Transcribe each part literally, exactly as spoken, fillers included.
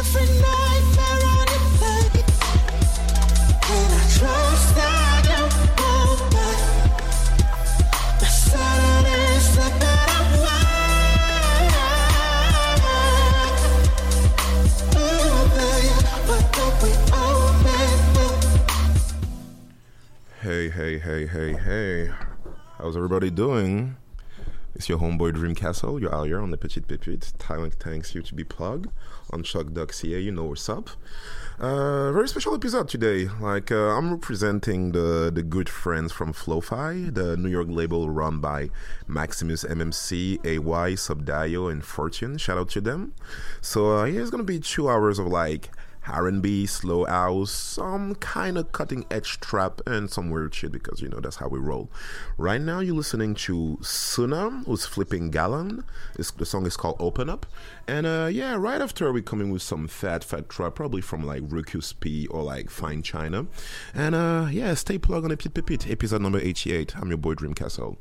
Every night they're on your plate, and I trust that you won't back. The Saturday's the better way. Ooh, baby, but don't we all make Hey, hey, hey, hey, hey. How's everybody doing? It's your homeboy Dreamcastle. You're out here on the Petite Pépite. Thanks you to be plugged on chuck dot c a. You know what's up. Uh, very special episode today. Like, uh, I'm representing the, the good friends from Flo-Fi, the New York label run by Maximus M M C, A Y, Subdio, and Fortune. Shout out to them. So, uh, yeah, it's gonna be two hours of like R and B, slow house, some kind of cutting edge trap, and some weird shit because, you know, that's how we roll. Right now, you're listening to Suna, who's flipping Gallon. It's, the song is called Open Up. And uh, yeah, right after, we're coming with some fat, fat trap, probably from like Ruckus P or like Fine China. And uh, yeah, stay plugged on the Pit Pit, episode number eighty-eight. I'm your boy Dreamcastle.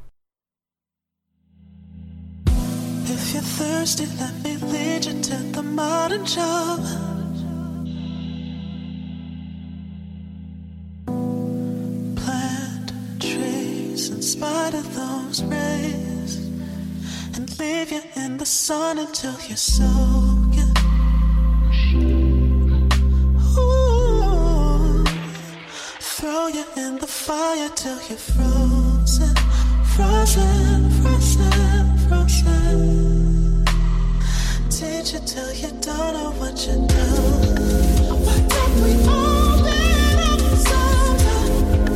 If you're thirsty, let me lead you to the modern shop. In spite of those rays, and leave you in the sun until you're soaking. Ooh, throw you in the fire till you're frozen, frozen, frozen, frozen. Teach you till you don't know what you do. Why don't we all let up somewhere?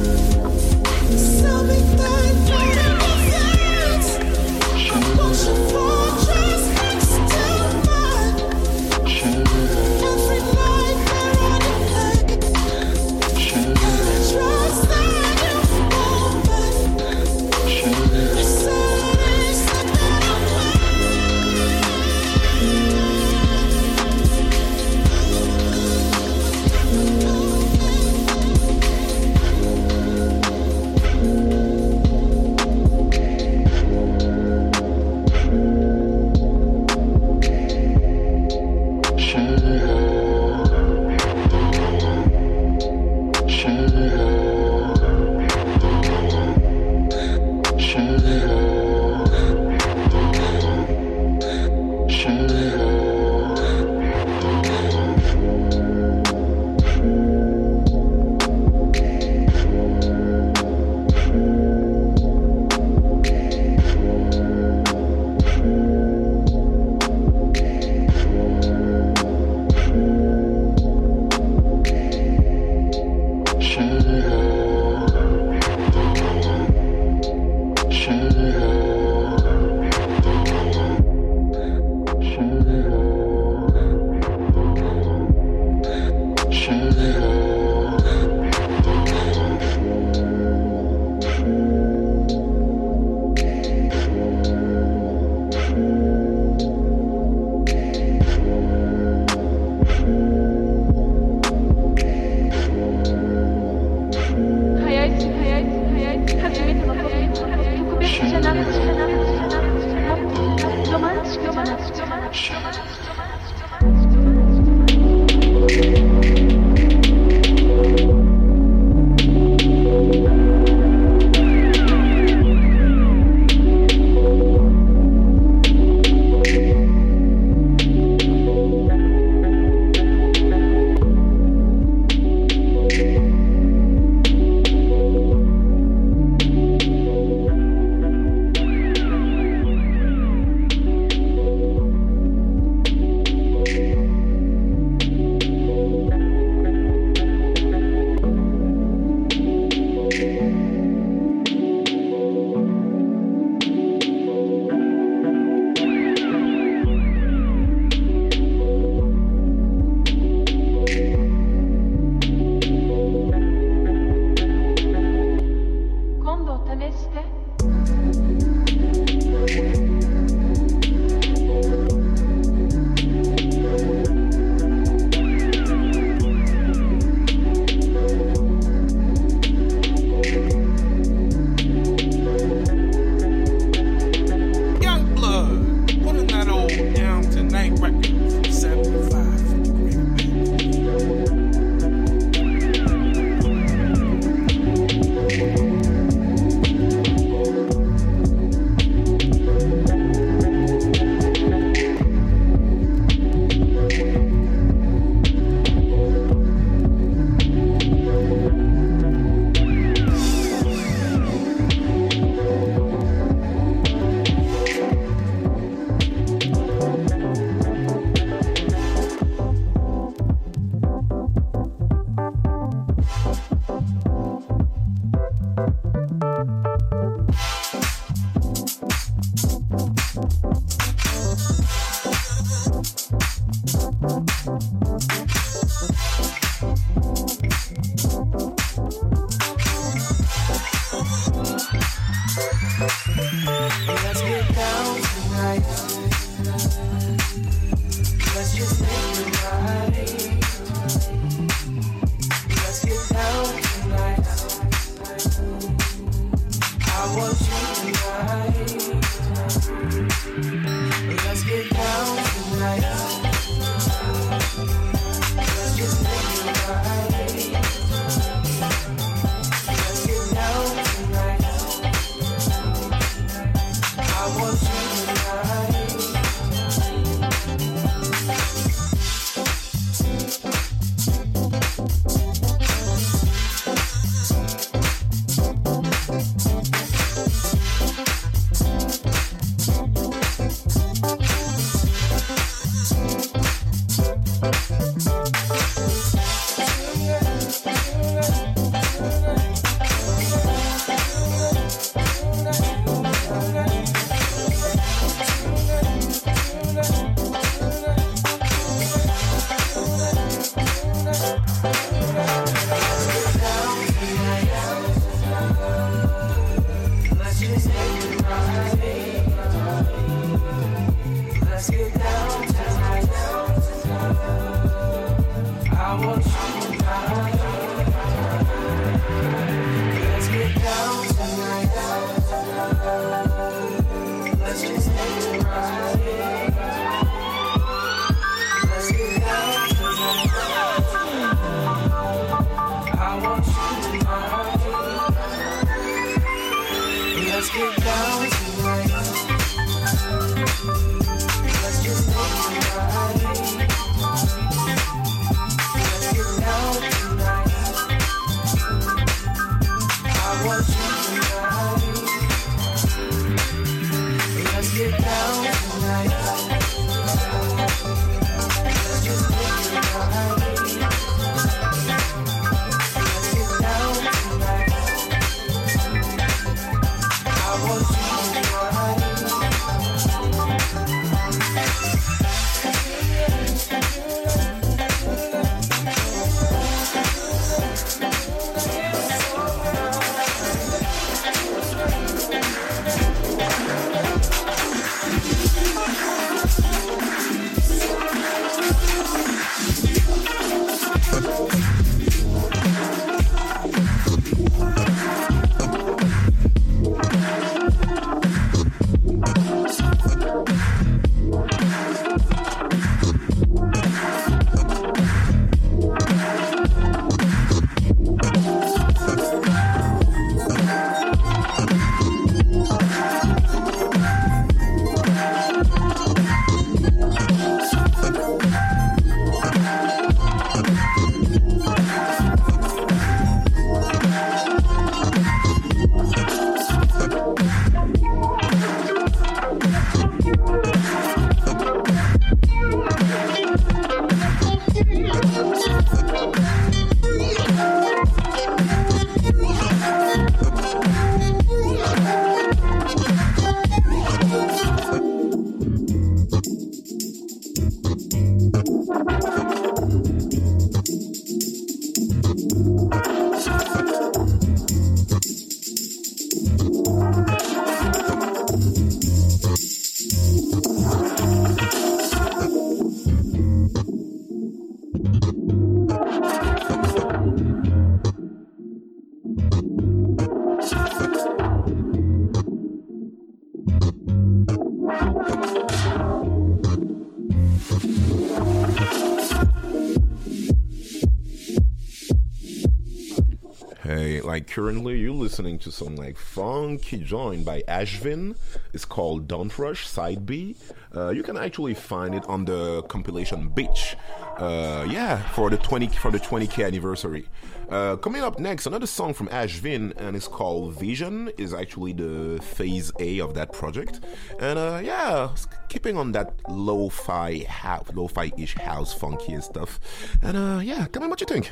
Tell me that you're innocent. I want your fortress next to mine. Every night they're on your plate, and I trust that you won't back. The Saturday's the better way. just make it right. Let's get down tonight. I want you tonight. Let's get down tonight. Let's just make it right. Let's get down tonight. I want you tonight. Hey, like currently you're listening to some like funky joint by Ashvin. It's called Don't Rush Side B. Uh, you can actually find it on the compilation Beach. Uh, yeah, for the twenty for the twenty K anniversary. Uh, coming up next, another song from Ashvin, and it's called Vision. Is actually the phase A of that project, and uh, yeah, keeping on that lo-fi, ha- lo-fi-ish house funky and stuff. And uh, yeah, tell me what you think.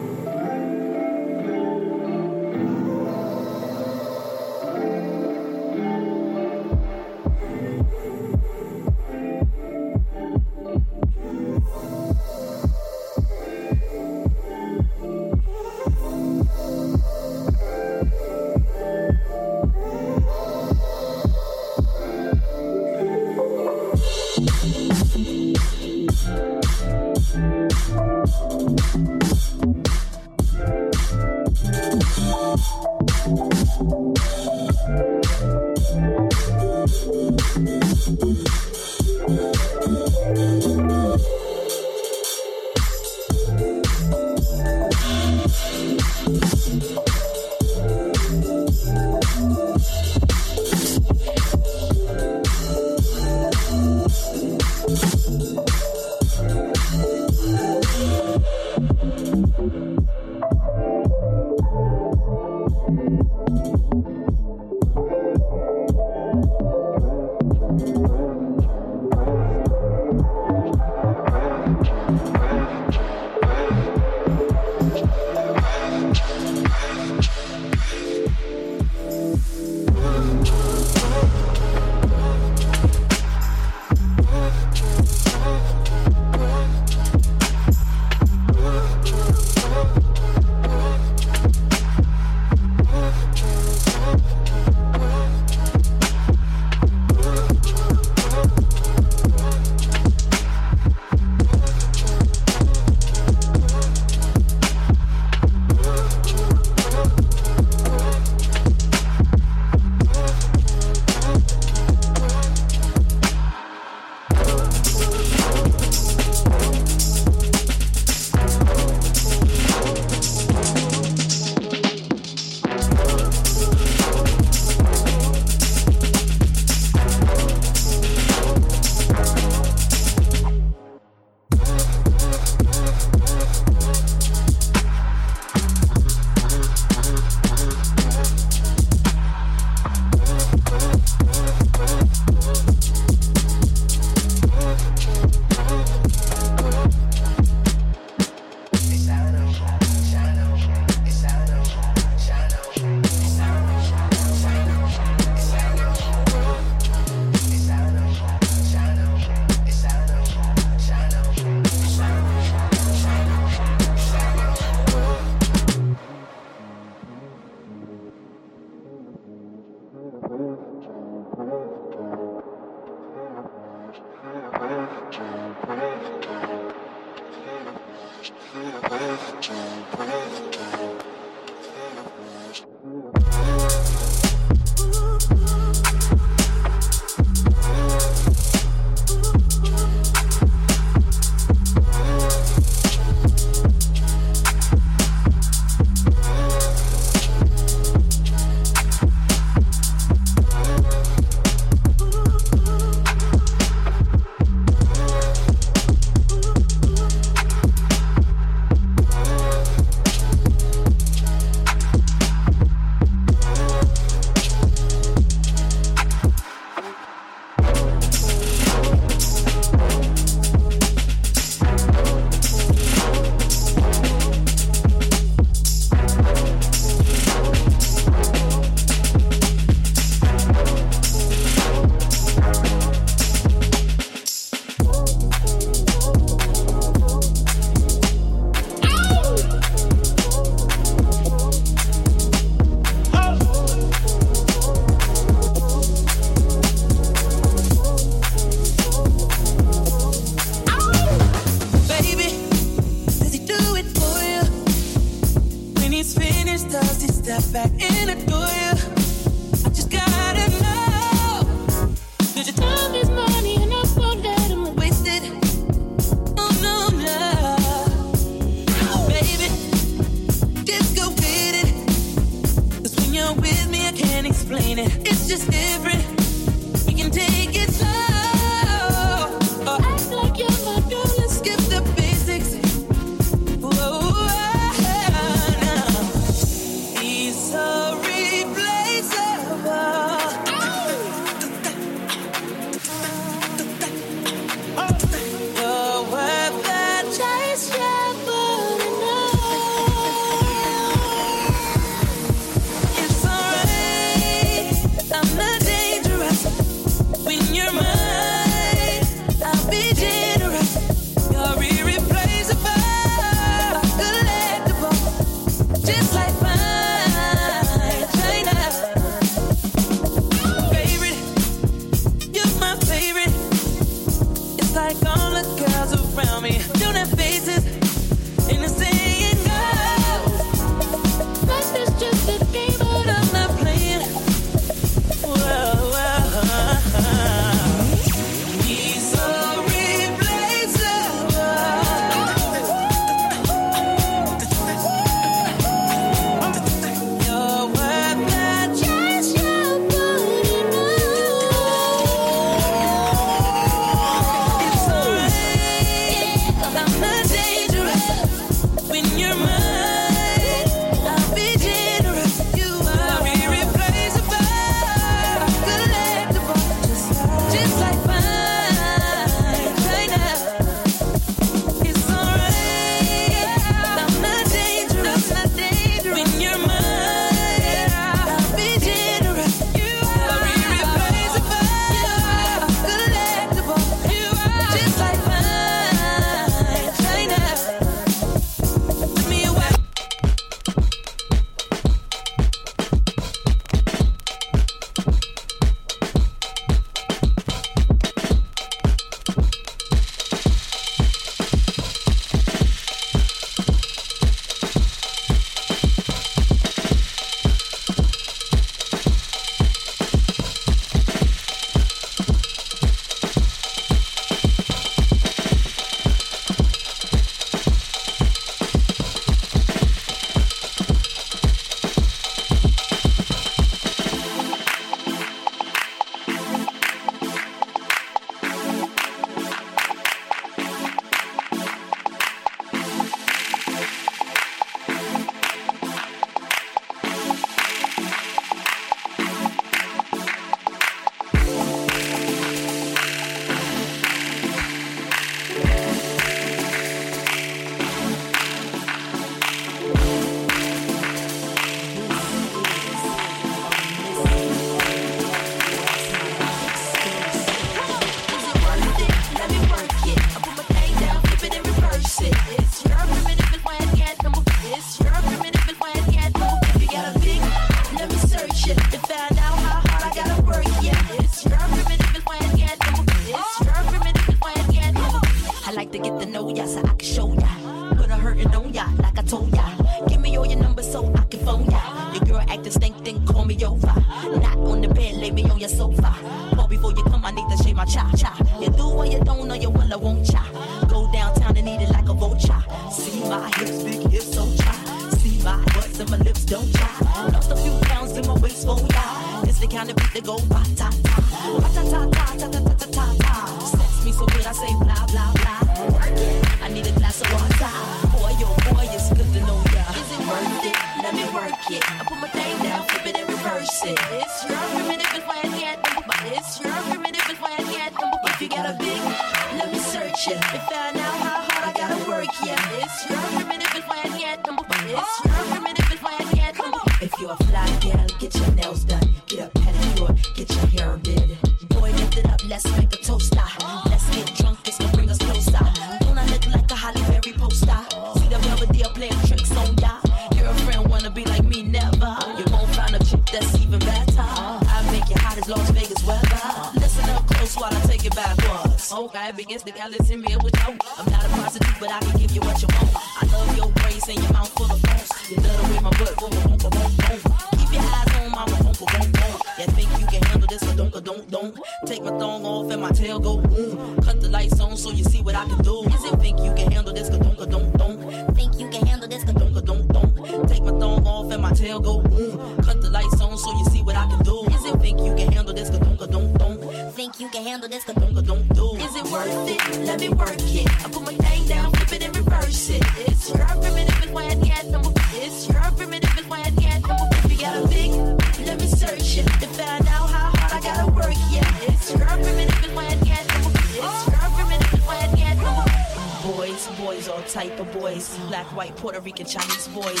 But before you come, I need to shave my cha cha. You do what you don't know, you will, I won't cha. Go downtown and eat it like a vulture. See my hips, big hips, so cha. See my butts and my lips don't cha. Lost a few pounds in my waist, oh yeah. It's the kind of beat that go ba ta ta, ba ta ta ta ta ta ta ta ta ta. Sex me so good, I say blah blah blah. Work it, I need a glass of water. Boy, yo, boy, it's good to know ya. Is it worth it? Let me work it. I put my thing down, flip it and reverse it. It's your primitive and why I can't think about it. It's your primitive and why I can't think about it. If you got a big, let me search it. And find out how hard I gotta work, yeah. It's your primitive and why I can't think about it. It's your primitive and why I can't think about it. If you're a fly gal, get your nails done. Get a pedicure, get your hair did. Boy, lift it up, let's make a toaster. Let's get drunk, this can bring us closer. Don't I look like a Halle Berry poster? See the Belvedere playing tricks on ya. Your friend wanna be like me, never. You won't find a chick that's even better. I make you hot as Las Vegas weather. Listen up close while I take it backwards. Okay, begins the gallons in me with you. I'm not a prostitute, but I can give you what you want. I love your braids and your mouth full of bones. You love the way my butt go, boom, boom, boom, boom. Keep your eyes on my boom, boom, boom, boom. You think you can handle this, but don't, don't, don't. Take my thong off and my tail go boom. Cut the lights on so you see what I can do. Is it think you can handle this, don't, don't, don't. Think you can handle this, don't, don't, don't. Take my thong off and my tail go boom. Cut the lights on so you see what I can do. Is it think you can handle this, don't, don't, don't. Think you can handle this, don't, don't, do. Is it worth it? Let me work it. I put my thing down, flip it and reverse it. It's your primitive and why I can't number. It's your primitive and why I can't number. If you got a big, let me search it to find out how hard I gotta work. Yeah, it's your primitive and why I can't number. It's your primitive and why I can't number. Boys, boys, all type of boys. Black, white, Puerto Rican, Chinese boys.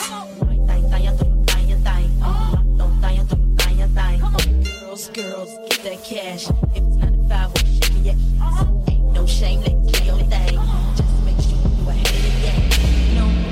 Girls, girls, get that cash. If it's ninety-five, we're shaking your ass. Ain't no shame, let you do your thing. Just make sure you ahead of the game. You know.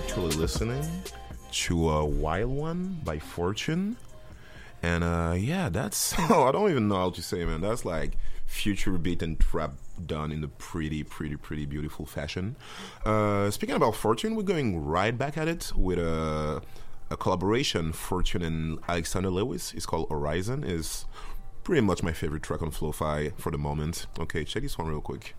actually listening to uh, Wild One by Fortune. And uh, yeah, that's, oh, I don't even know how to say, man. That's like future beat and trap done in a pretty, pretty, pretty beautiful fashion. Uh, speaking about Fortune, we're going right back at it with a, a collaboration, Fortune and Alexander Lewis. It's called Horizon. It's pretty much my favorite track on Flo-Fi for the moment. Okay, check this one real quick.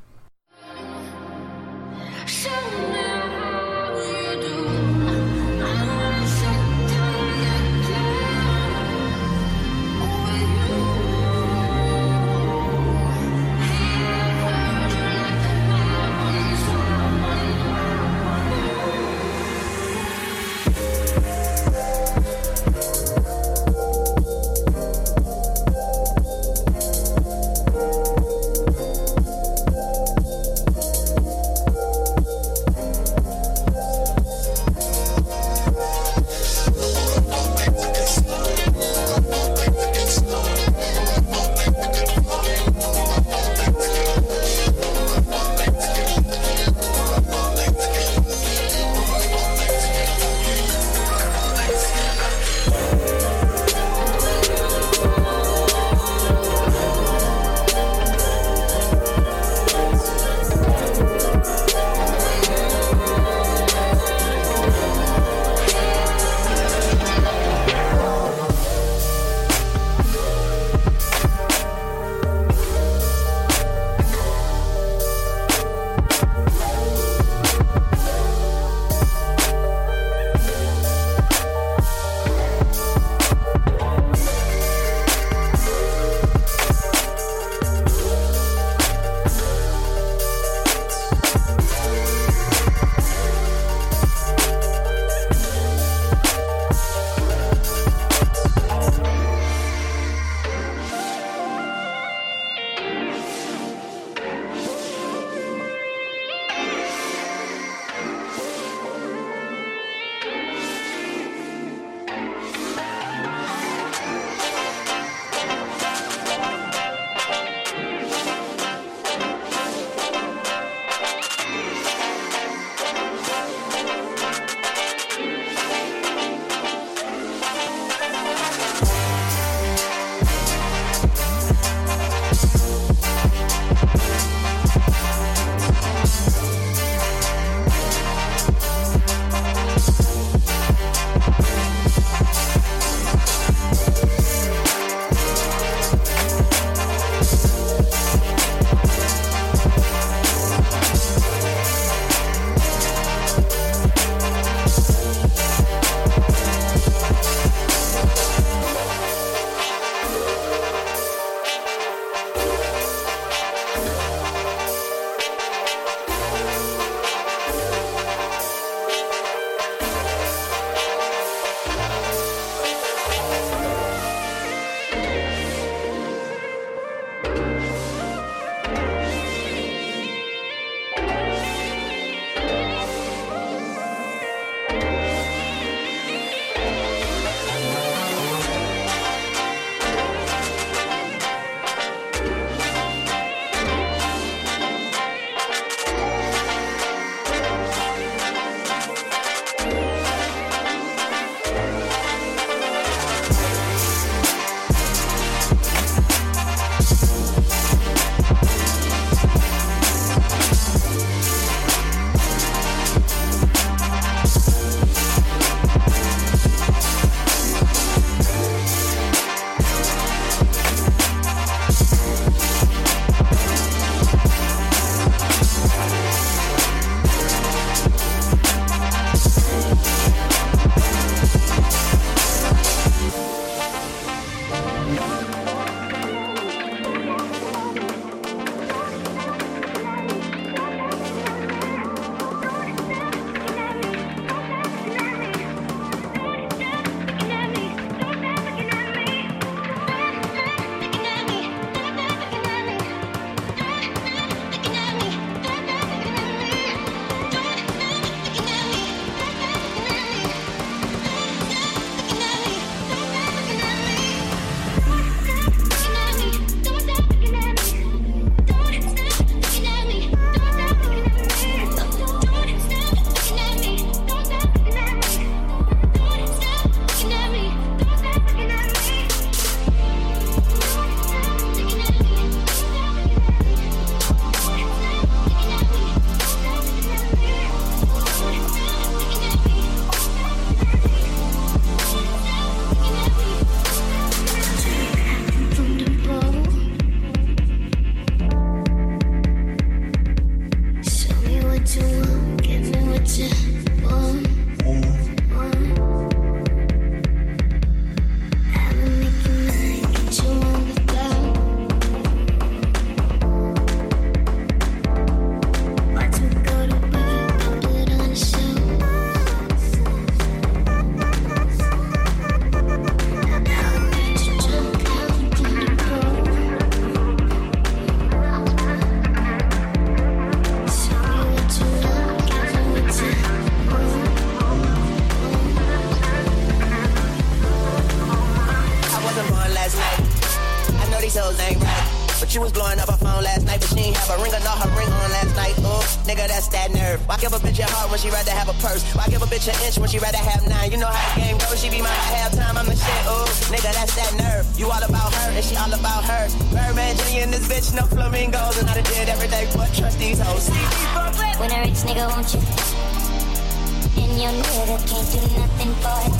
a ring or not her ring on last night. Ooh, nigga, that's that nerve. Why give a bitch a heart when she rather have a purse? Why give a bitch an inch when she rather have nine? You know how the game goes, she be mine at halftime, I'm the shit. Ooh, nigga, that's that nerve. You all about her and she all about her. Birdman Junior in this bitch, no flamingos. And I done did every day but trust these hoes. When a rich nigga wants you, and your nigga can't do nothing for it.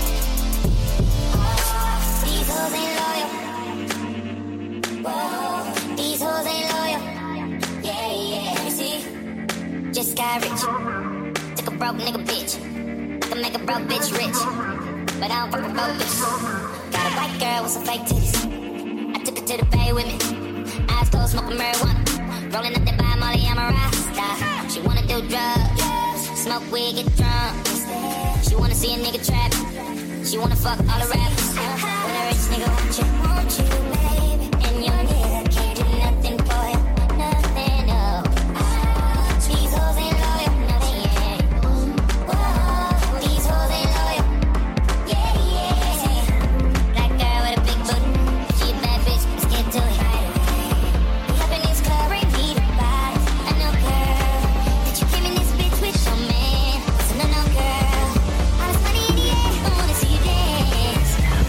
These hoes ain't loyal. Whoa, these hoes ain't loyal. Yeah, yeah. Let me see. Just got rich. Took a broke nigga bitch. Can make a broke bitch rich. But I don't fuck with broke bitches. Got a white girl with some fake titties. I took her to the bay with me. Eyes closed, smoking marijuana. Rolling up that by Molly, I'm a rasta. She wanna do drugs. Smoke weed, get drunk. She wanna see a nigga trap. She wanna fuck all the rappers. When a rich nigga want you, want you, baby. And your nigga can't do nothing for it. Nothing, no. These hoes ain't loyal, no they ain't. Whoa, these hoes ain't loyal. Yeah, yeah. Black girl with a big booty. She a bad bitch, let's get to it. We up in this club, bring me the body. I know, girl, that you came in this bitch with your man. So no, no, girl. All this money in the air, I wanna see you dance.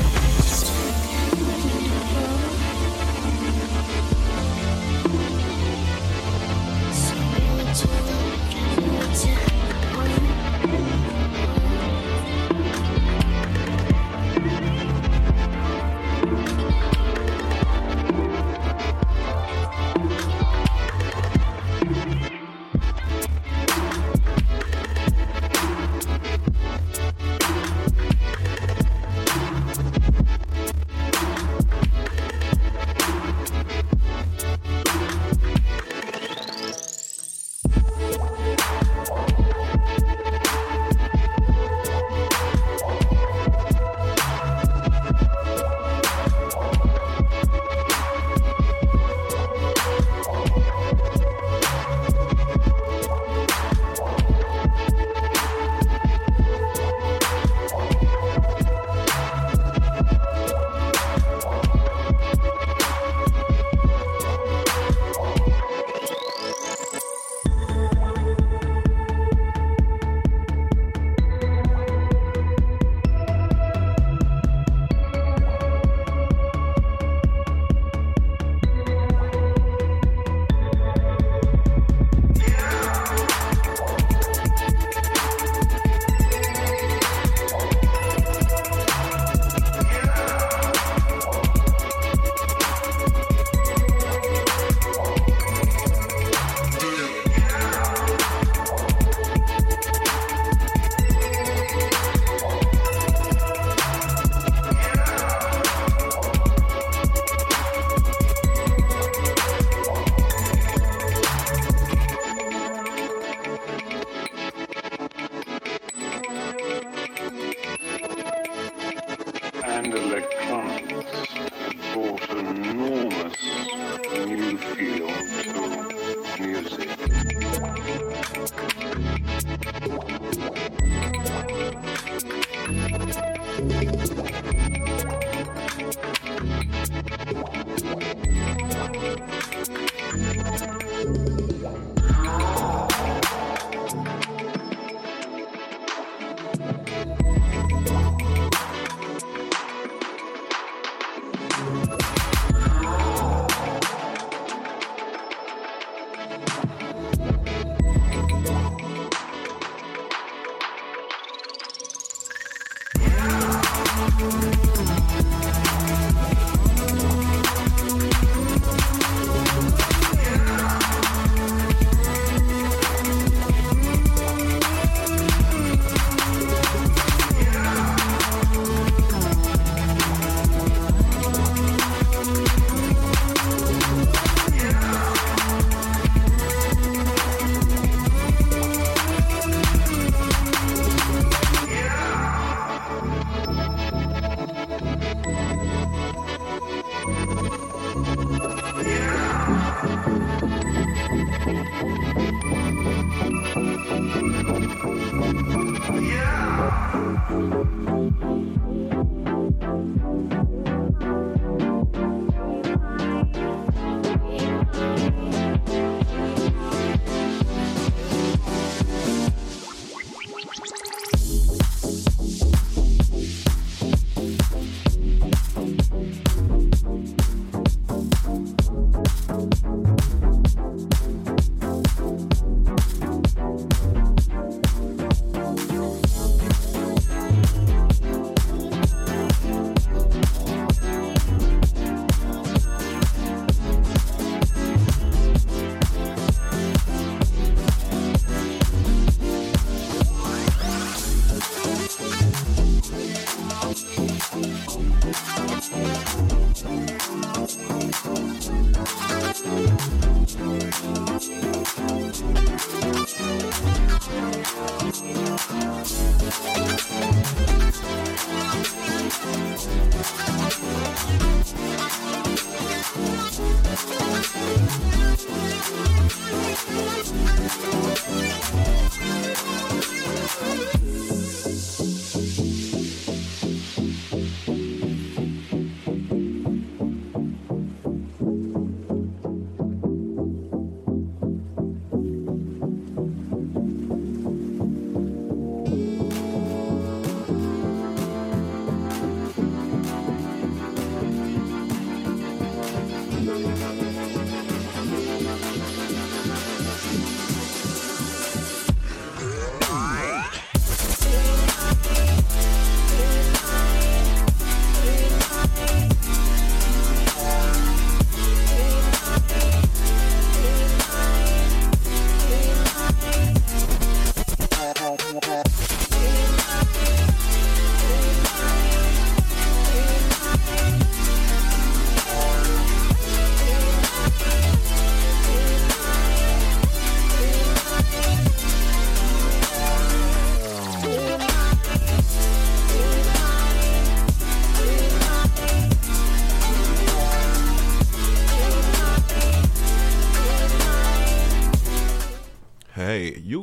And electronics had brought an enormous new feel to music.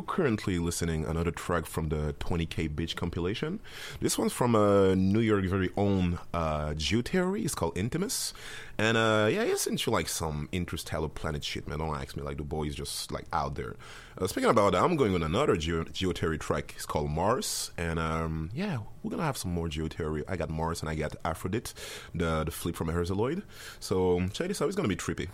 you currently listening another track from the twenty K Bitch compilation. This one's from a New York very own uh, Geotheory. It's called Intimus. And uh, yeah, it's into like some interstellar planet shit, man. Don't ask me, like the boy is just like out there. Uh, speaking about that, I'm going on another Geo- Geotheory track. It's called Mars. And um, yeah, we're gonna have some more Geotheory. I got Mars and I got Aphrodite, the, the flip from Herzaloid. So check this out, it's gonna be trippy.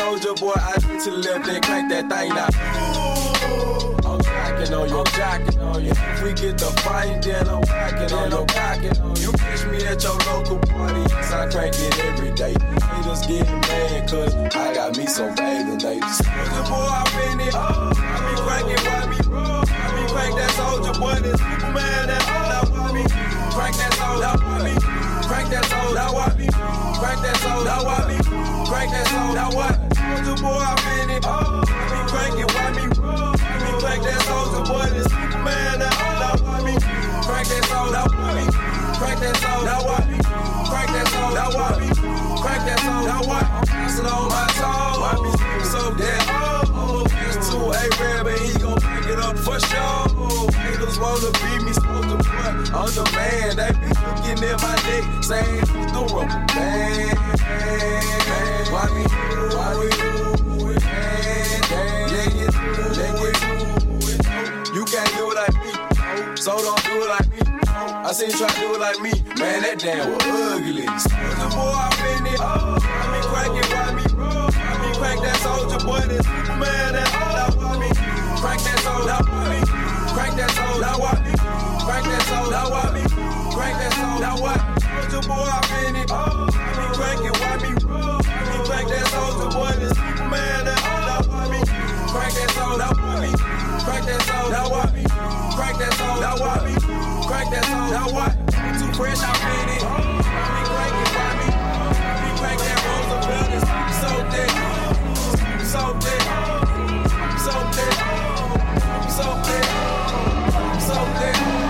On your on you. If we get the fight, then I'm rocking on your cocking on you. Catch me at your local party, yes, I crank it every day. Haters getting mad, cause I got me some bathing dates. Soldier boy, I been it. Oh, I be cranking, why me? I be crank that soldier boy, this Superman, that all why me? Crank that soldier, why me? Crank that soldier, why me? Crank that soldier, why me? Crank that soldier, what? Soldier boy, I been it. Oh, I be cranking, why me? I be crank that soldier boy, this Superman, that all why me? Crank that soldier, why me? Crank that soldier, why me? Crank that soldier, why me? Crank that soldier, why? Pass it on my toe, why me? So that oh, pass to a rab and he gon' pick it up for sure. Haters wanna beat me, supposed to put on the man. They be looking at my neck, saying who's the rubber band? Why me? Why we do it? Let it do it. You can't do it like me, so don't do it like me. I seen you try to do it like me, man, that damn was ugly. Soldier boy, I been it. Oh, I be cranking, why me? I be crank that soldier boy, this Superman, that all why me? Crank that soldier, why me? Crank that soldier, why me? Crank that soldier, why me? Crank that soldier, why? Soldier boy, I been it. Oh, I be cranking, why me? I be crank that soldier boy, this Superman, that all why me? Crank that soldier, why me? Crank that soldier, why me? Crank that soldier, why me? Crank that soldier, why? Too fresh, I been it. I be cranking, why me? I be crank that Roosevelt, it's so dead, so dead, so dead, so dead, so dead.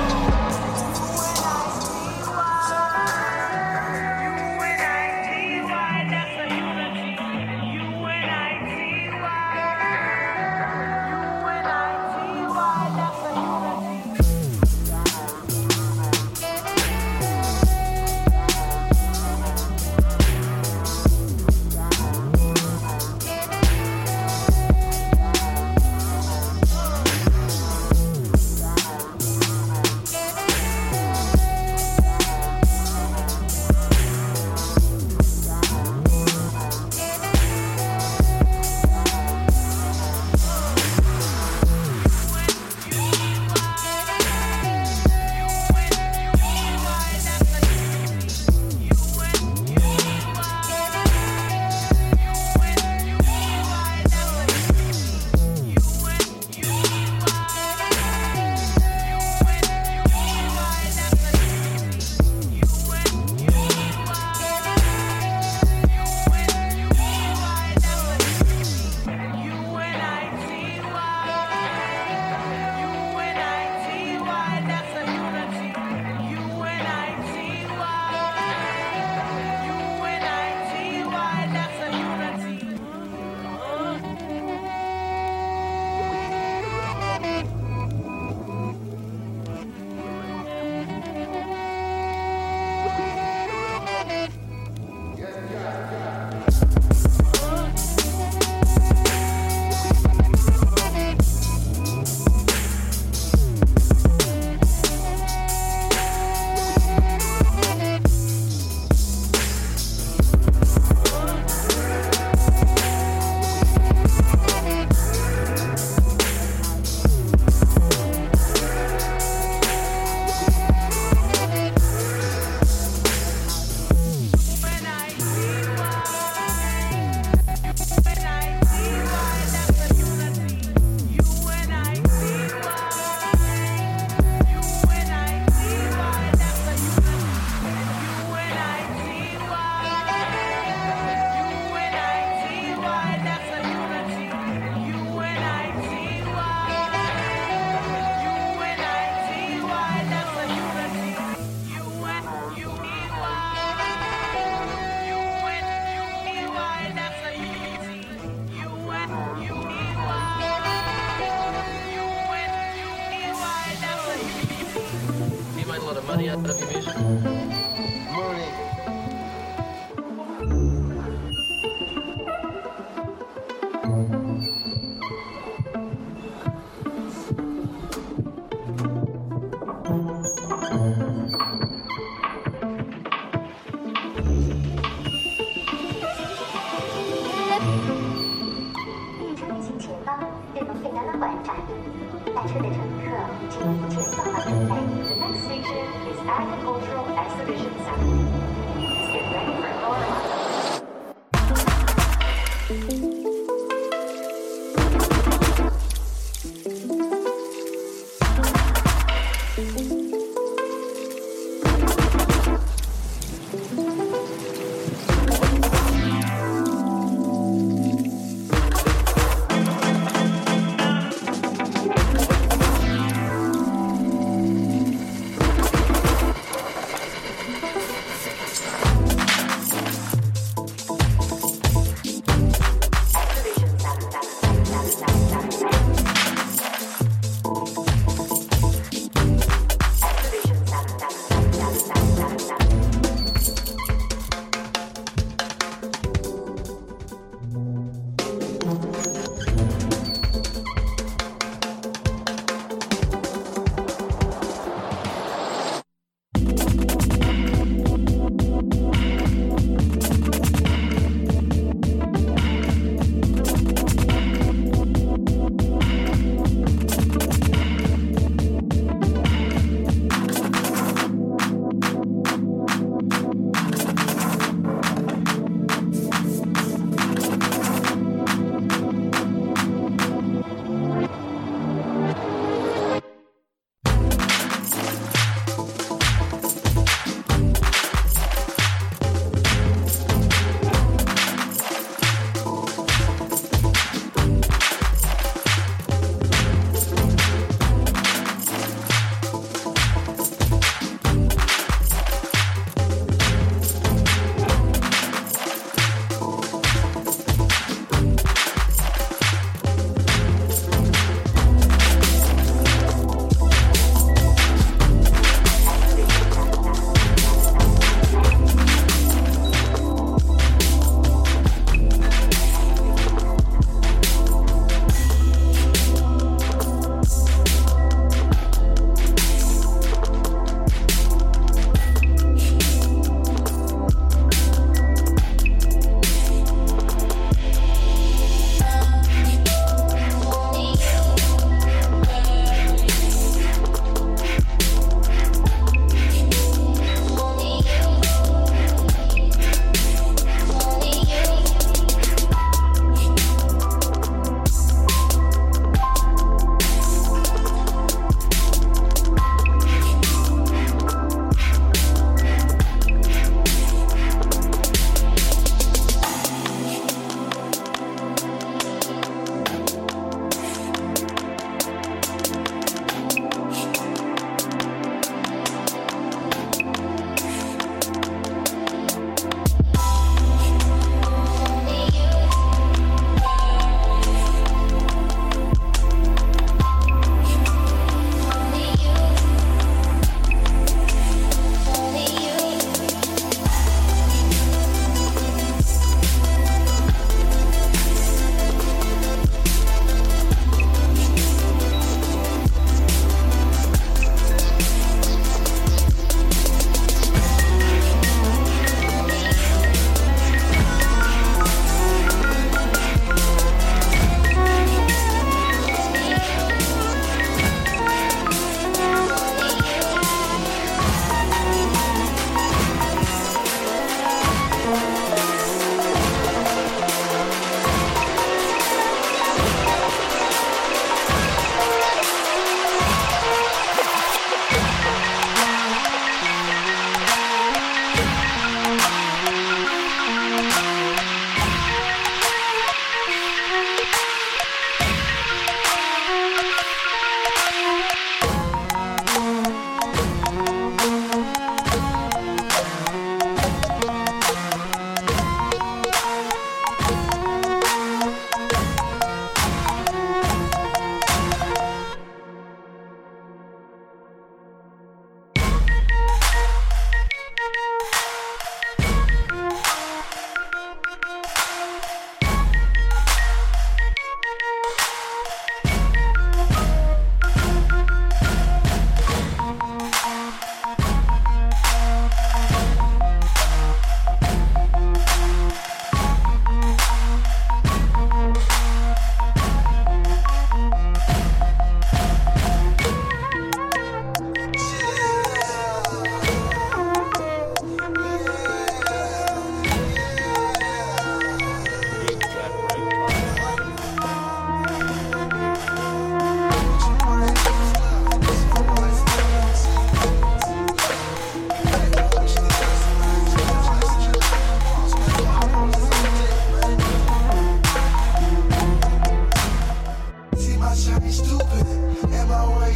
money out of your music. Money. The next station is Agricultural Exhibition Center. Please get ready for Colorado.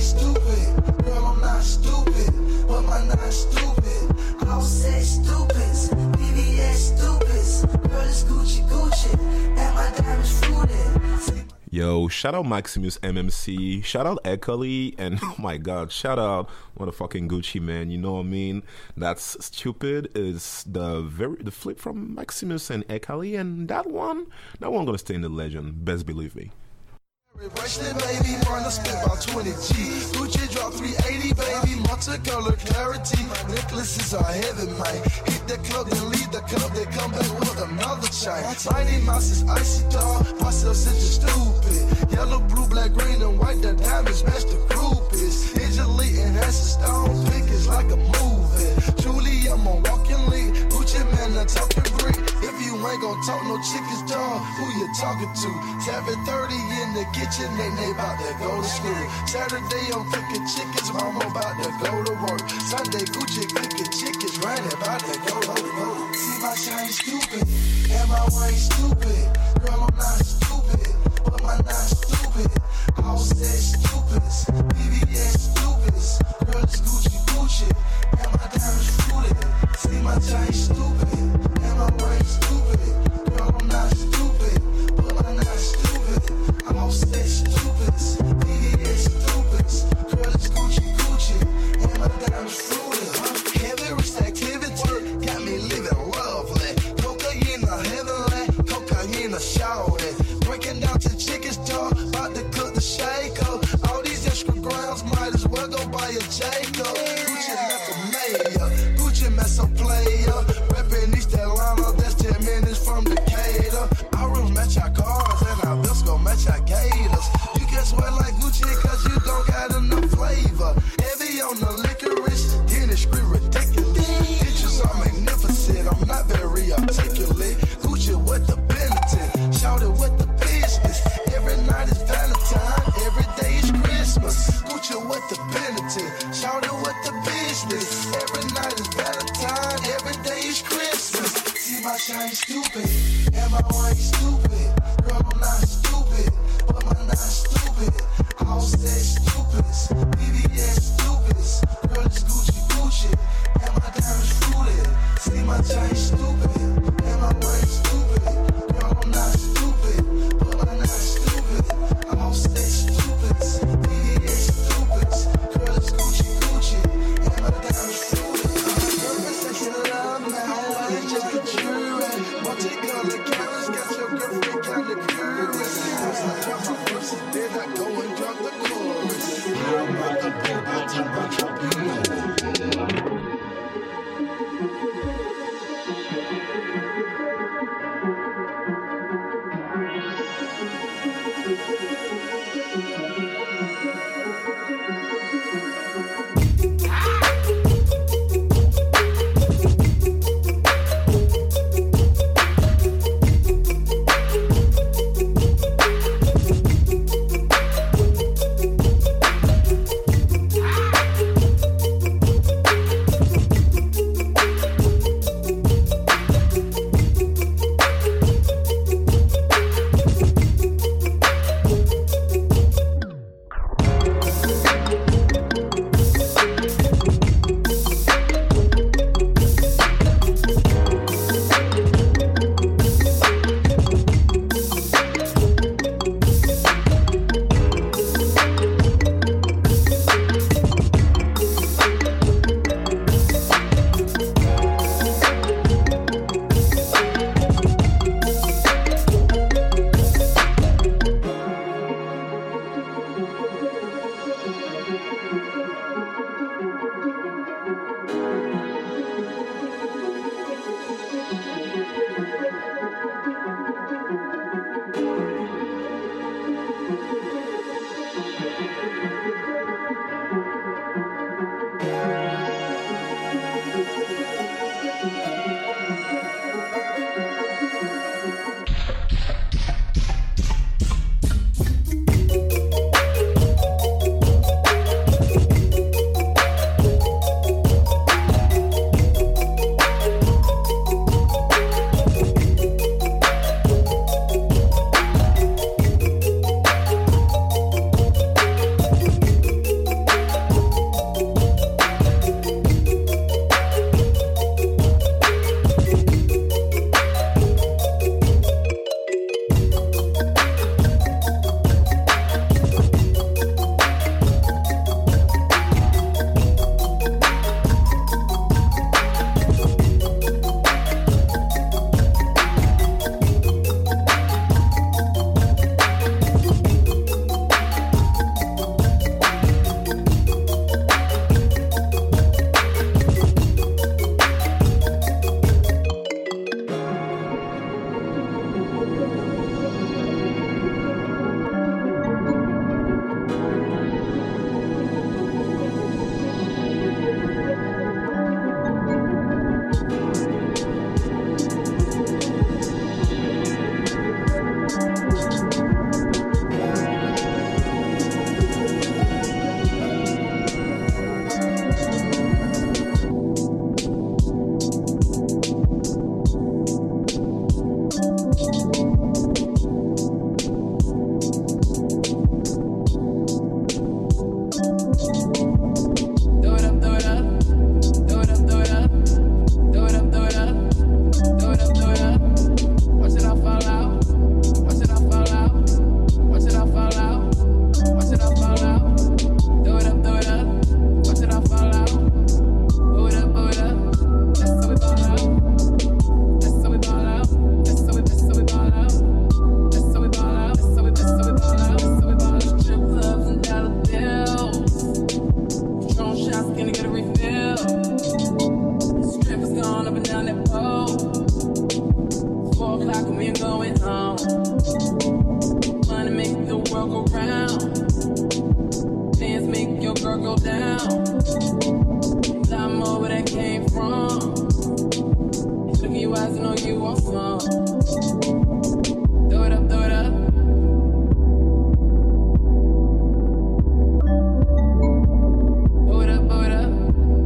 stupid. Girl, I'm not stupid, but my not stupid. All sex stupids, B B S stupids. Girl, it's Gucci Gucci, and my diamonds fruited. Yo, shout out Maximus M M C, shout out Ekali, and oh my god, shout out motherfucking Gucci, man. You know what I mean? That's Stupid is the very the flip from Maximus and Ekali, and that one, that one gonna stay in the legend. Best believe me. Bracelet, baby, burn a spit about twenty G. Gucci drop three eighty, baby, multicolor clarity. Necklaces are heavy, man. Hit the club, then leave the club, they come back with another chain. Mighty Mouse is icy dog, myself such a stupid. Yellow, blue, black, green, and white, the diamonds match the groupies. Digitally enhanced stones, pink is like a movie. Truly, I'm a walking lead. Gucci man, a talking brick. If you ain't gon' talk no chickens, dog, who you talking to? seven thirty in the kitchen, they they about to go to school. Saturday I'm cooking chickens, mama about to go to work. Sunday Gucci cooking chickens, right about to go to work. See my shine stupid, and my way stupid. Girl, I'm not stupid, but my not stupid. All said stupids, B B S stupids. Girl, it's Gucci Gucci, and my diamonds fruited. See my shine stupid, and my way stupid. Girl, I'm not stupid, but my not stupid. All said stupids, B B S stupids. Girl, it's Gucci Gucci, and my diamonds fruited. Heavy wrist activity got me living lovely. Cocaine a heavenly, cocaine a shouting. Breaking down to chicken store, about to cook the shaker. All these extra grams might as well go buy a Jacob. Gucci left a mayor, Gucci mess a player. Reppin' East Atlanta, that's ten minutes from Decatur. Our rooms match our cars, and our bills gon' match our gators. You can sweat like Gucci, cause you don't got enough flavor. Heavy on the licorice, dentistry ridiculous. Pictures are magnificent, I'm not very articulate. Gucci with the penitent, shout it with the business. Every night is Valentine, every day is Christmas. Gucci with the penitent, shout it with the business. Every night is Valentine, every day is Christmas. See my shine stupid, and my way stupid. Girl, I'm not stupid, but my not stupid. All said stupids, B B S stupids. Girl, it's Gucci Gucci, and my diamonds fruited. See my shine stupid, and my way stupid. Girl, I'm not stupid, but my not stupid. All said stupids, B B S stupids. Girl, it's Gucci Gucci, and my diamonds fruited. Girl, it's love now, it's just a true. Multicolor cameras got your girlfriend. down. Lot more where that came from. Look in your eyes and know you want some. Throw it up, throw it up. Throw it up, throw it up.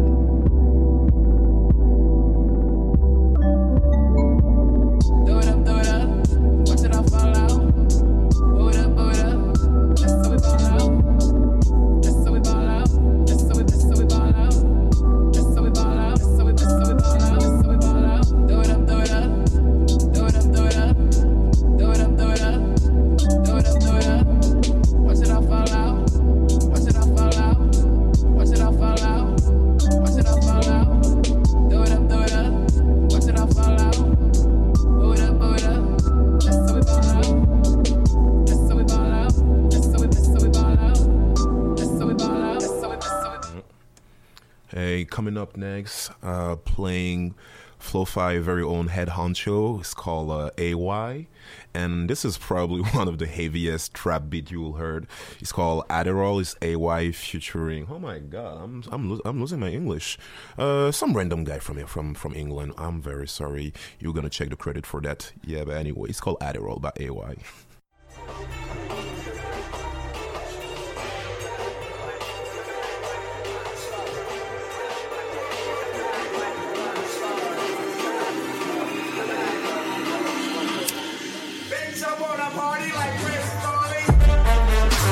Throw it up, throw it up. Watch it all fall out. Throw it up, throw it up. That's how we ball out. That's how we ball out. That's how we, that's how we ball out. That's how we ball out. That's how we, that's how we ball out. That's how we ball out. Throw it up, throw it up. Throw it up, throw it up. Throw it up, throw it up. Throw it up, throw it up. Watch it all fall out. Watch it all fall out. Watch it all fall out. Watch it all fall out. Throw it up, throw it up. Watch it all fall out. Throw it up, throw it up. That's how we ball out. That's how we ball out. That's how we, that's how we ball out. That's how we ball out. That's how we, that's how we. Hey, coming up next, uh, playing Flo-Fi very own head honcho. It's called uh, A Y, and this is probably one of the heaviest trap beat you will heard. It's called Adderall. It's A Y featuring. Oh my God, I'm I'm lo- I'm losing my English. Uh, some random guy from here from from England. I'm very sorry. You're gonna check the credit for that. Yeah, but anyway, it's called Adderall by A Y. Bitch, I wanna party like Chris Farley.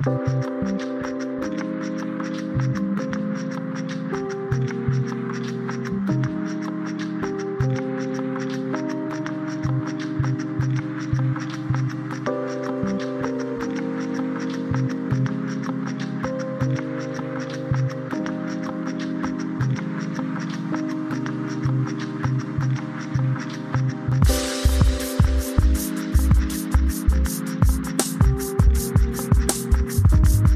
Thank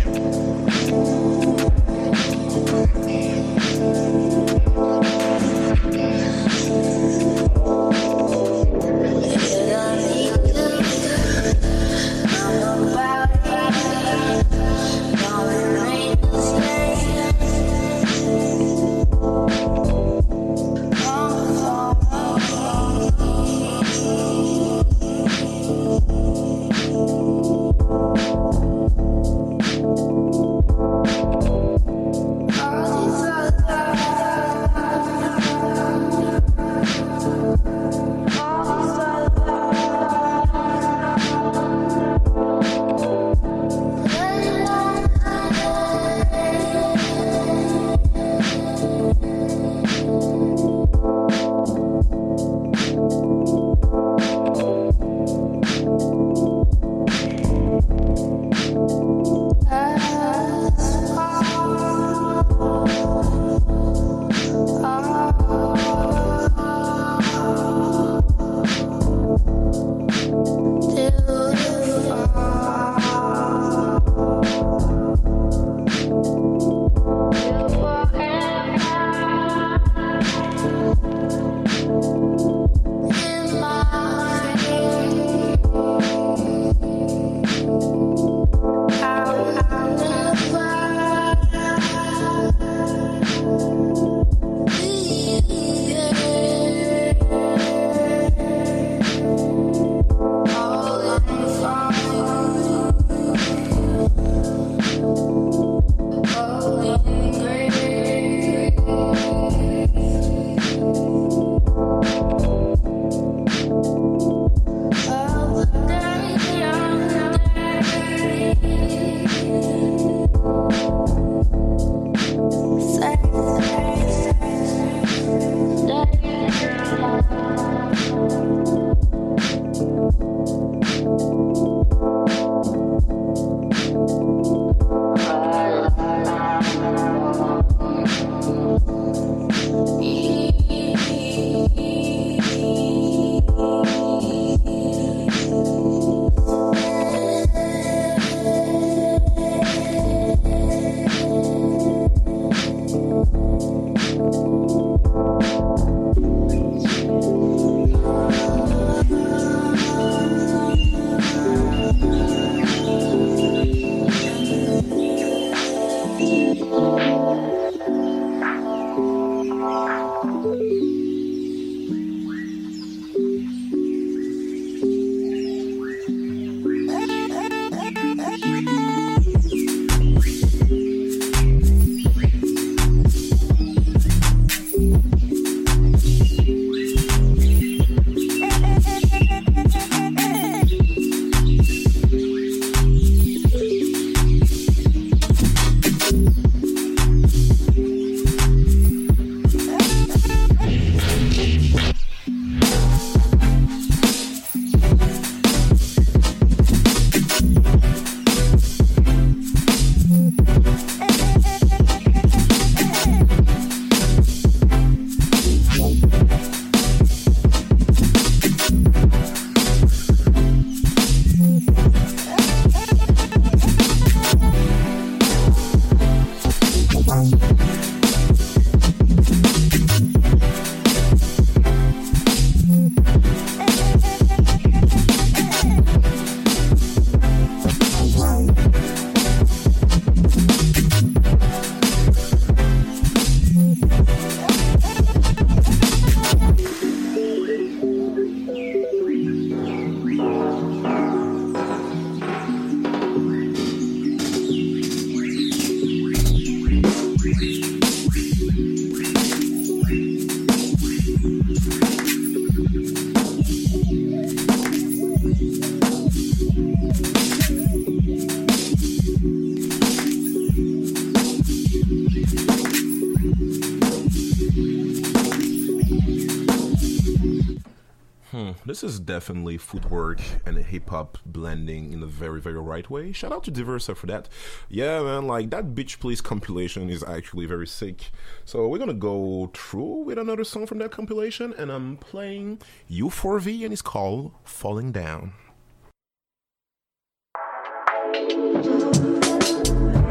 This is definitely footwork and hip hop blending in a very, very right way. Shout out to Diversa for that. Yeah, man, like that Bitch Please compilation is actually very sick. So we're gonna go through with another song from that compilation, and I'm playing U four V, and it's called Falling Down.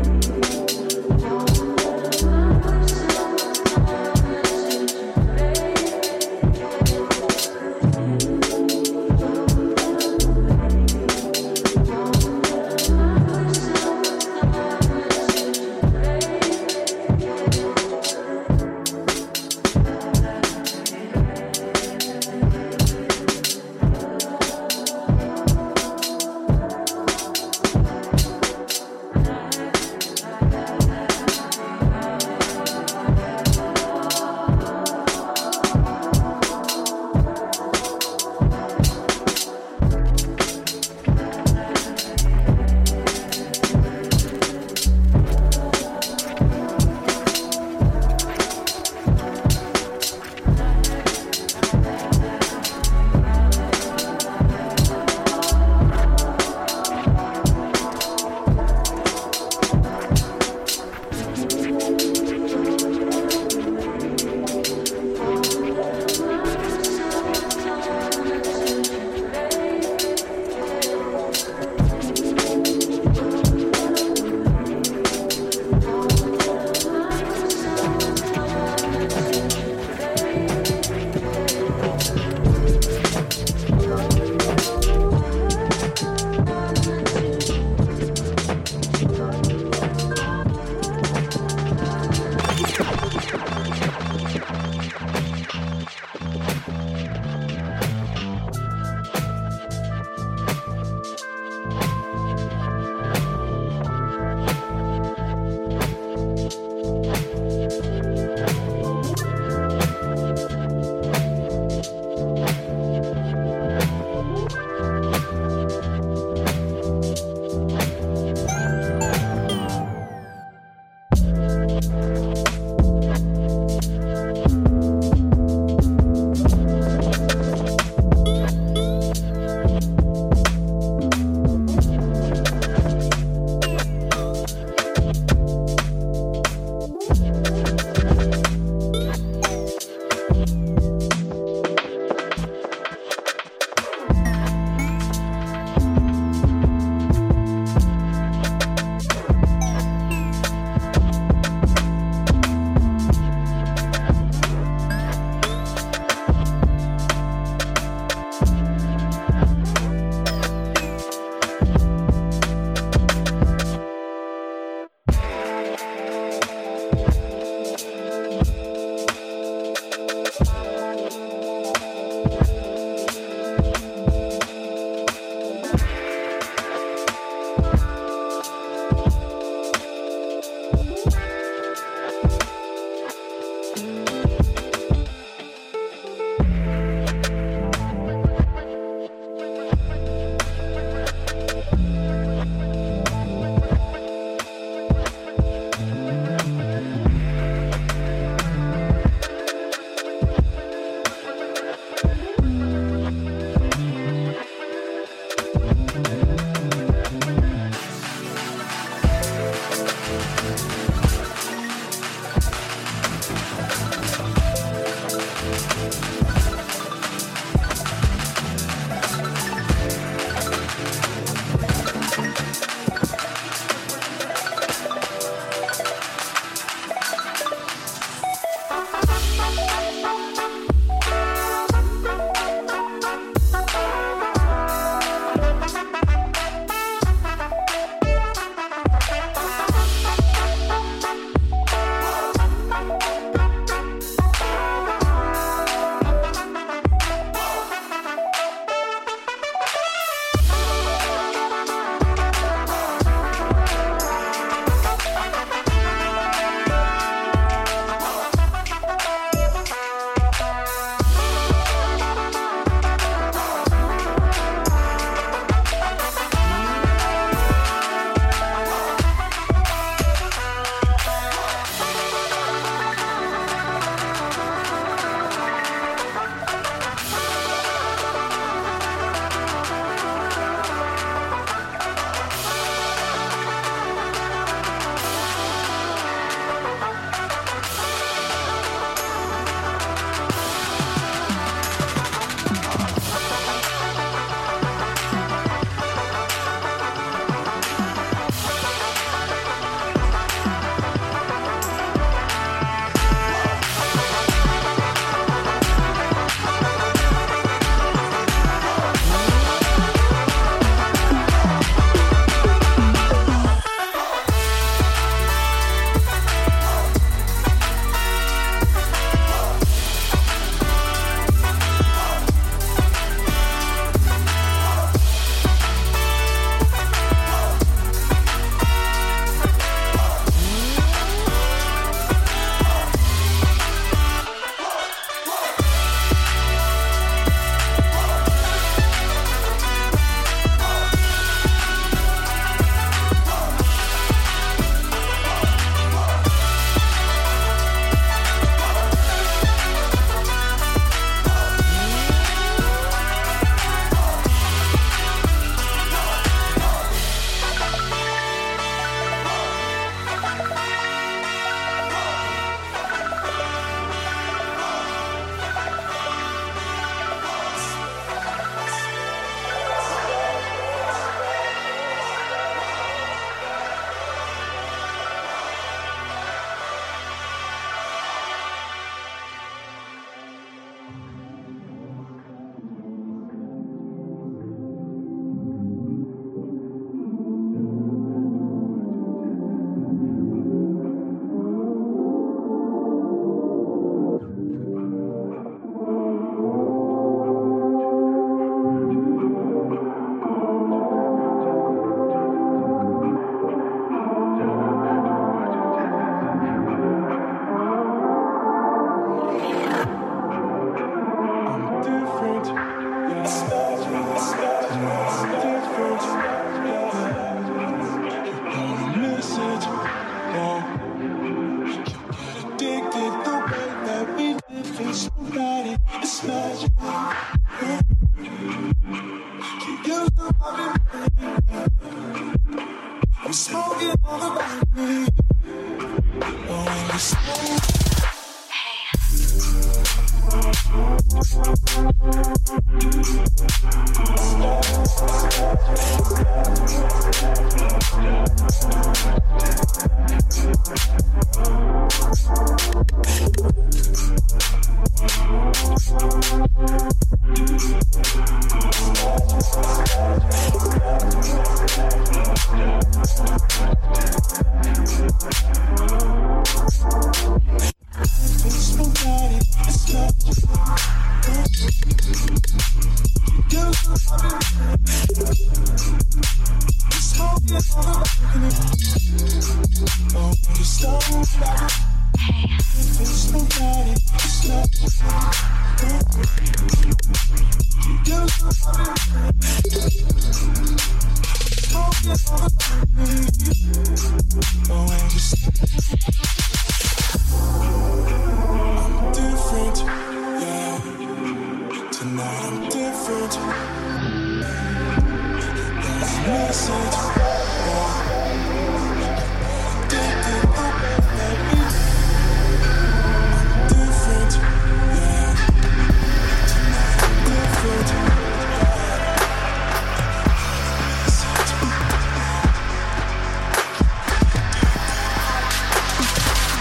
Different.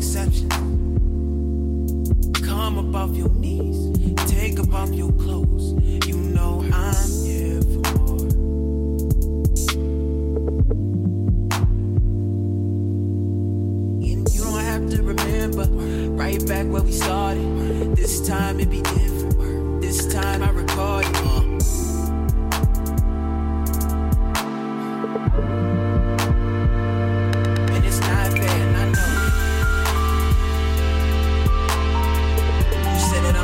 exception. Come up off your knees, take up off your clothes. You know I'm here for more. And you don't have to remember, right back where we started. This time it be different. This time I record it. Uh. And it's not fair, and I know. You said it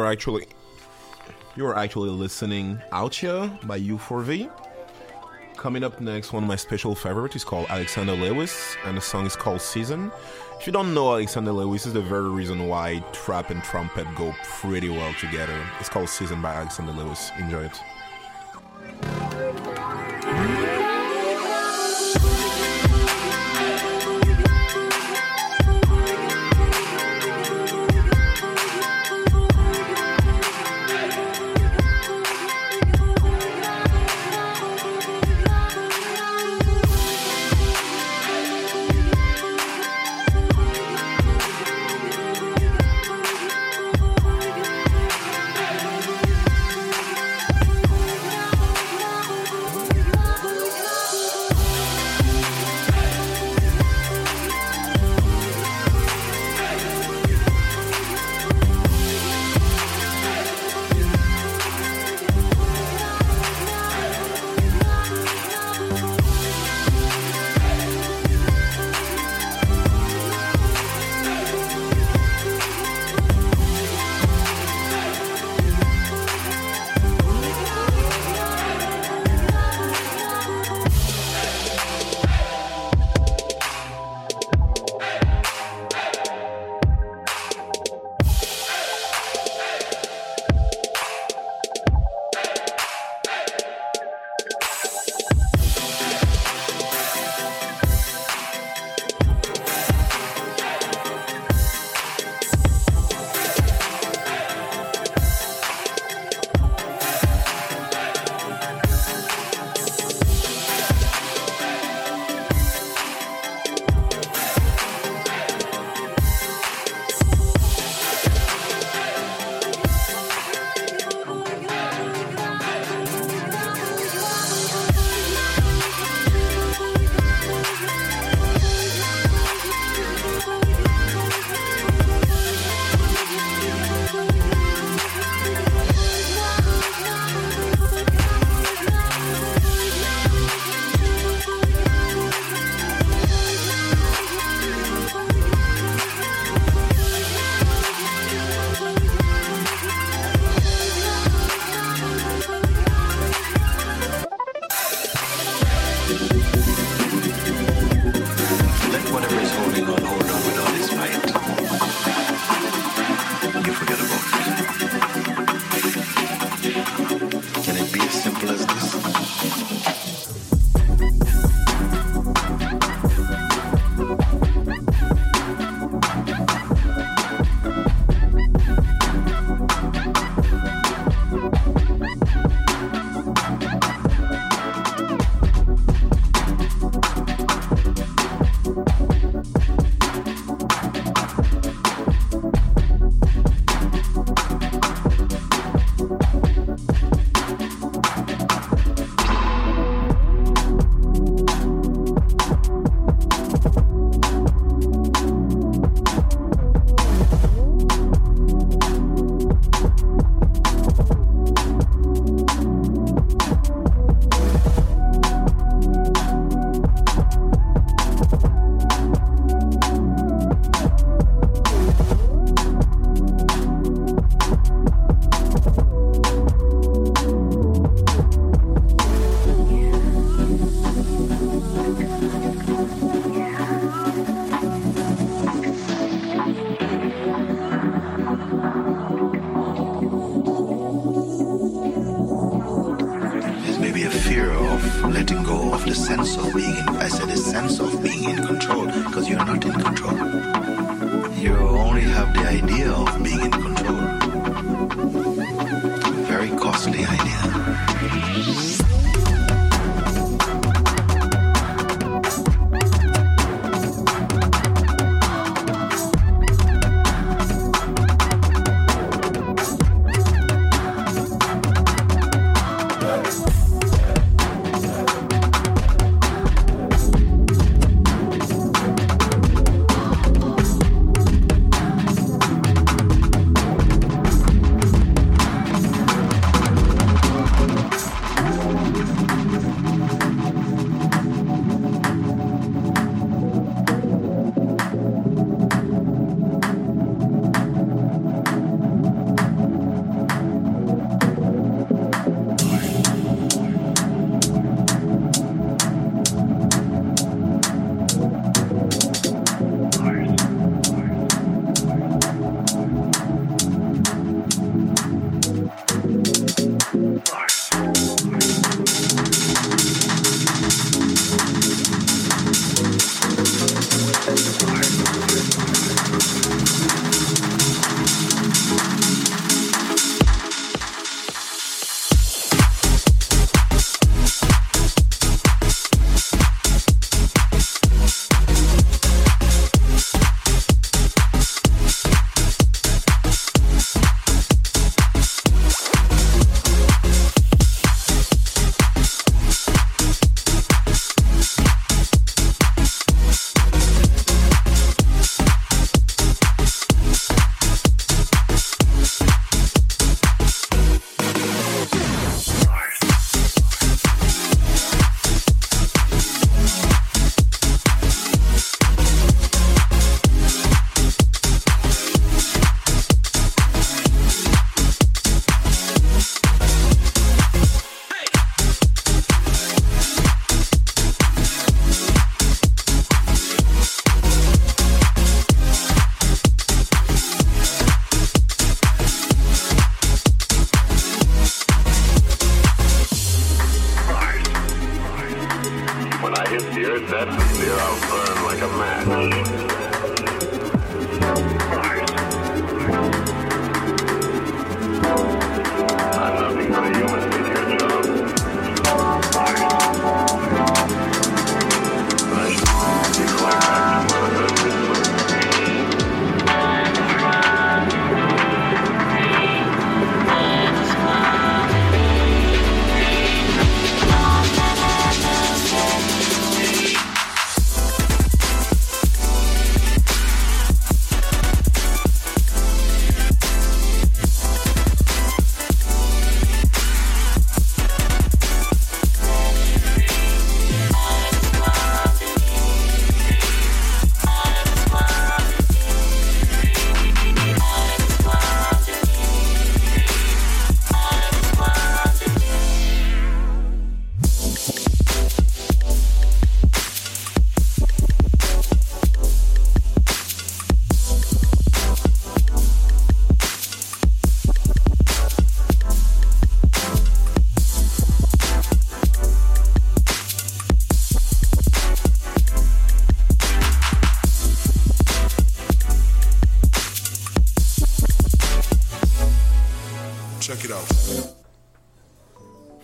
actually you are actually listening Out Here by U four V. Coming up next, one of my special favorites is called Alexander Lewis, and the song is called Season. If you don't know Alexander Lewis, is the very reason why trap and trumpet go pretty well together. It's called Season by Alexander Lewis. Enjoy it.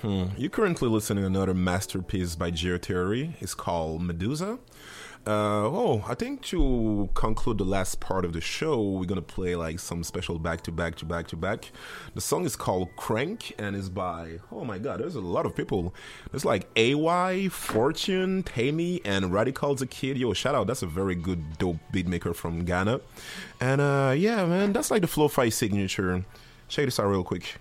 Hmm. You're currently listening to another masterpiece by Geotheory. It's called Medusa. Uh, oh, I think to conclude the last part of the show, we're gonna play like some special back to back to back to back. The song is called Crank and is by, oh my god, there's a lot of people. There's like A Y, Fortune, Tammy, and Radical the Kid. Yo, shout out, that's a very good dope beatmaker from Ghana. And uh, yeah, man, that's like the Flow-Fi signature. Check this out real quick.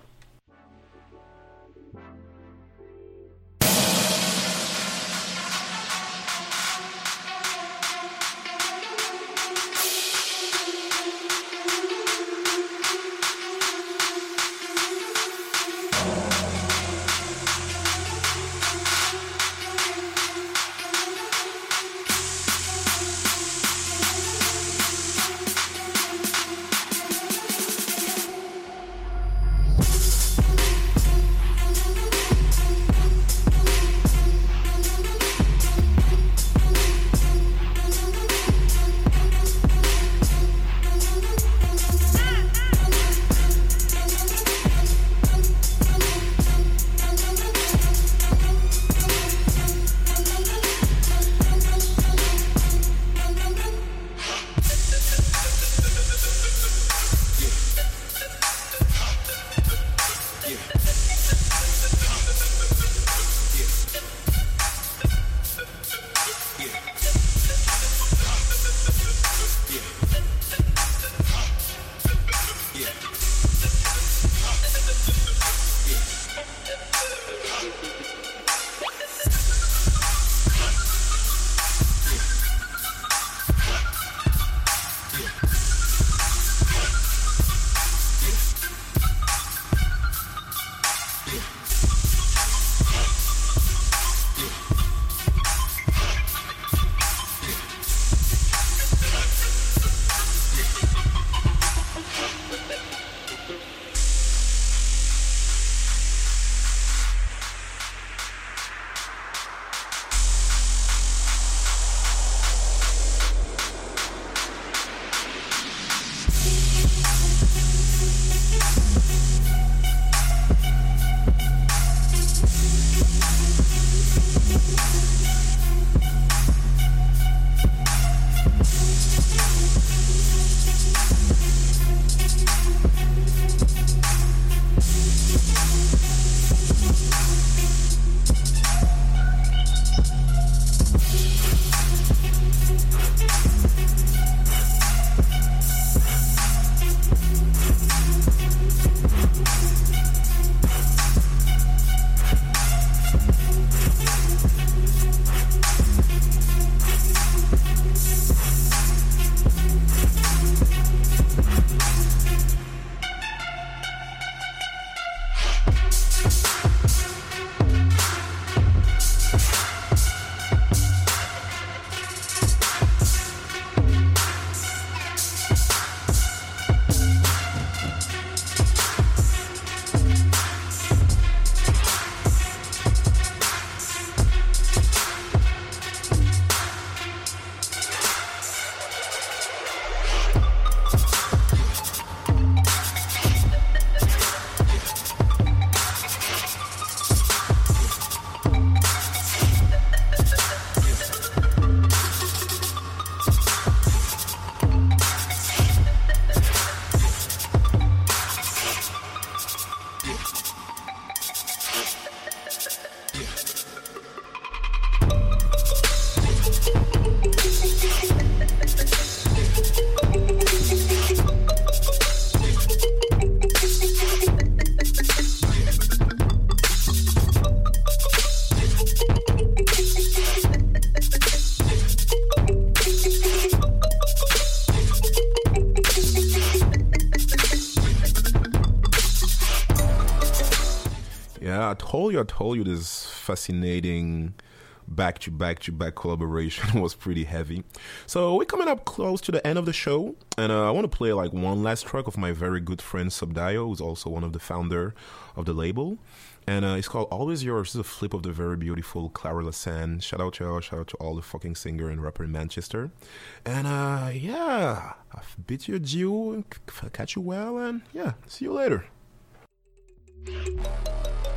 Yeah, I told you, I told you this fascinating back to back to back collaboration was pretty heavy. So we're coming up close to the end of the show, and uh, I want to play like one last track of my very good friend Subdio, who's also one of the founder of the label. And uh, it's called Always Yours. It's a flip of the very beautiful Clara Lasan. Shout out to her, shout out to all the fucking singer and rapper in Manchester. And uh, yeah, I bid you adieu, and c- catch you well, and yeah, see you later.